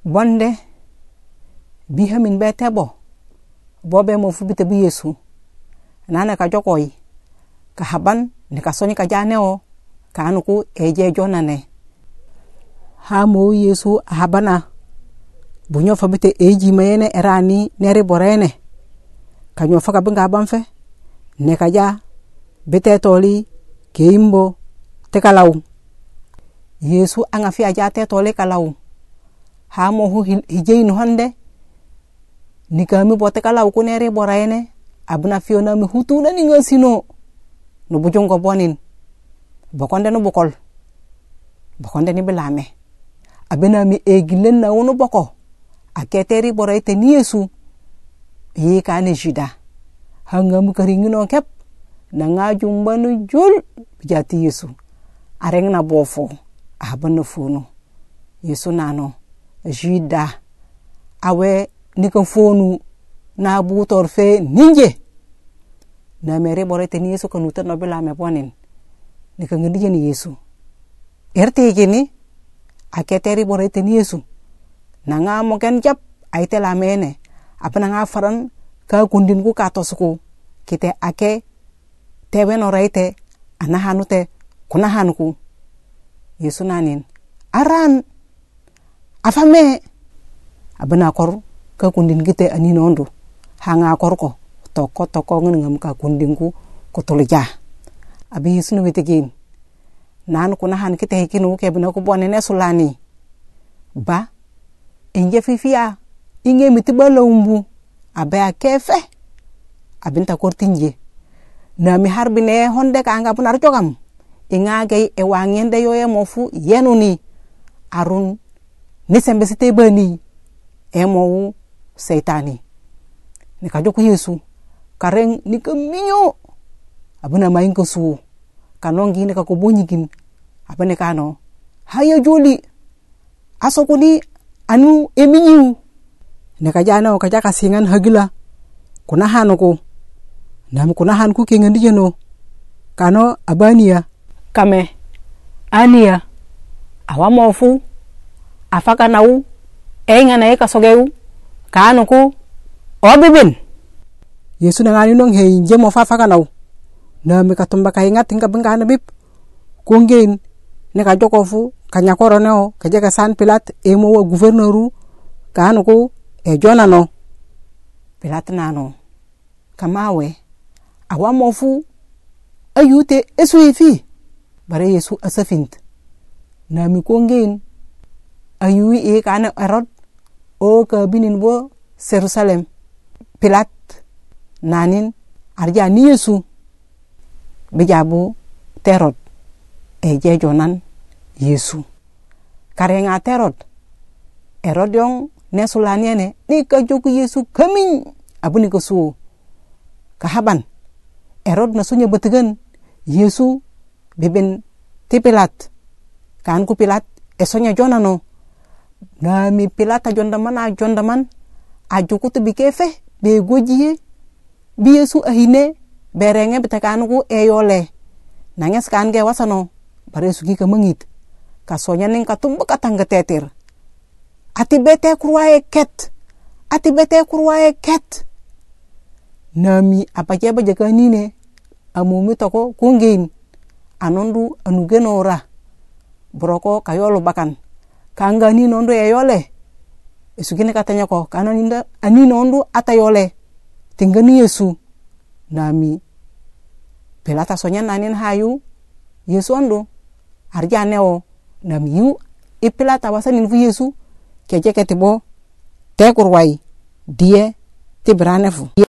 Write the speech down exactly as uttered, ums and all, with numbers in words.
bonde biha min bete bo bobe mo fubite bi Yesu nana ka jokoy ka haban ne ka soni ka janeo ka anuku eje jonane ha mo Yesu habana bunyo fabite eji mayene erani neri borene kanyo faka binga banfe ne ka ja bete toli keimbo tekalaw Yesu anga fi aja te toli kalaw ha mo hu hijeinu hande nikami bote kalaw ku neri borene abuna fiona mi hutuna ni ngasino no bujongo bonin bokonde no bokol bokonde ni belame abena mi egilen na wono boko aketeri borete ni Yesu yi kane juda hanga mu karingino kep na ngaju mbanu jul bijati Yesu areng na bofo abana fono Yesu nano juda awe nika fonu na butor fe ninje na mere borete ni Yesu kanuta no belame bonin nika ngandije ni Yesu erte gini aketeri borete ni Yesu na nga mo ken jap aite la mene apana nga faran ka kundin ku ka tosuku kite ake tebe no raite ana hanute kuna hanuku Yesu nanin aran afame abana kor ka kundin kite ani nondo hanga korko toko toko ngam ka kundin ku ko tolja abi Yesu no wetegin nan kuna han kite hikinu ke bina ko bonene sulani ba inje fifia inge mitibala umbu abaya kefe abinta kortinje na mi harbine honde ka anga punar jogam inga gay e wangende yoye mofu yenuni arun ni sembe site bani e mowu seitani ni ka joko Yesu kareng ni ka minyo abuna mayin ko su kanongi ni ka ko bonyigin abane kano haya joli asokuni anu eminyu ne ka jana ka jaka singan hagila kuna hanuko nam kuna hanku ke ngandi no kano abania kame ania awamofu afaka nau enga na eka sogeu kanuko obibin Yesu na ngani nong he nje mo fafaka nau nam ka tumba ka ingat tinga bengana bib kongen ne ka jokofu kanya koroneo ka jaga san Pilat emo wa gouverneuru kanuko e jonano Pilat nano kamawe awamofu ayute esuifi bare Yesu asafint na mi kongen ayui e kana Herod o ka binin bo Jerusalem Pilat nanin arja ni Yesu bijabu Herod e je jonan Yesu karenga Herod Herod yong nesulani ne ni ka joku Yesu kamin abuni ko su kahaban Herod na sunya betigan Yesu beben ti Pilat kan ku Pilat esonya jonano na mi Pilat jondaman a jondaman a joku to bikefe be gojiye bi Yesu ahine berenge betakan ku eyole nanges kan ge wasano bare sugi ka mangit kasonya ning katumba katanga teter ati bete kurwae ket ati bete kurwae ket nami apaje ba jakani ne amumi toko kungin anondu anugenora broko kayolo bakan kangani nondo eyole esugine katanya ko kananinda ani nondo atayole tingani Yesu nami pelata sonya nanin hayu Yesu ando arjaneo nami yu ipelata wasanin fu Yesu keje ketibo te kurwai die te branefu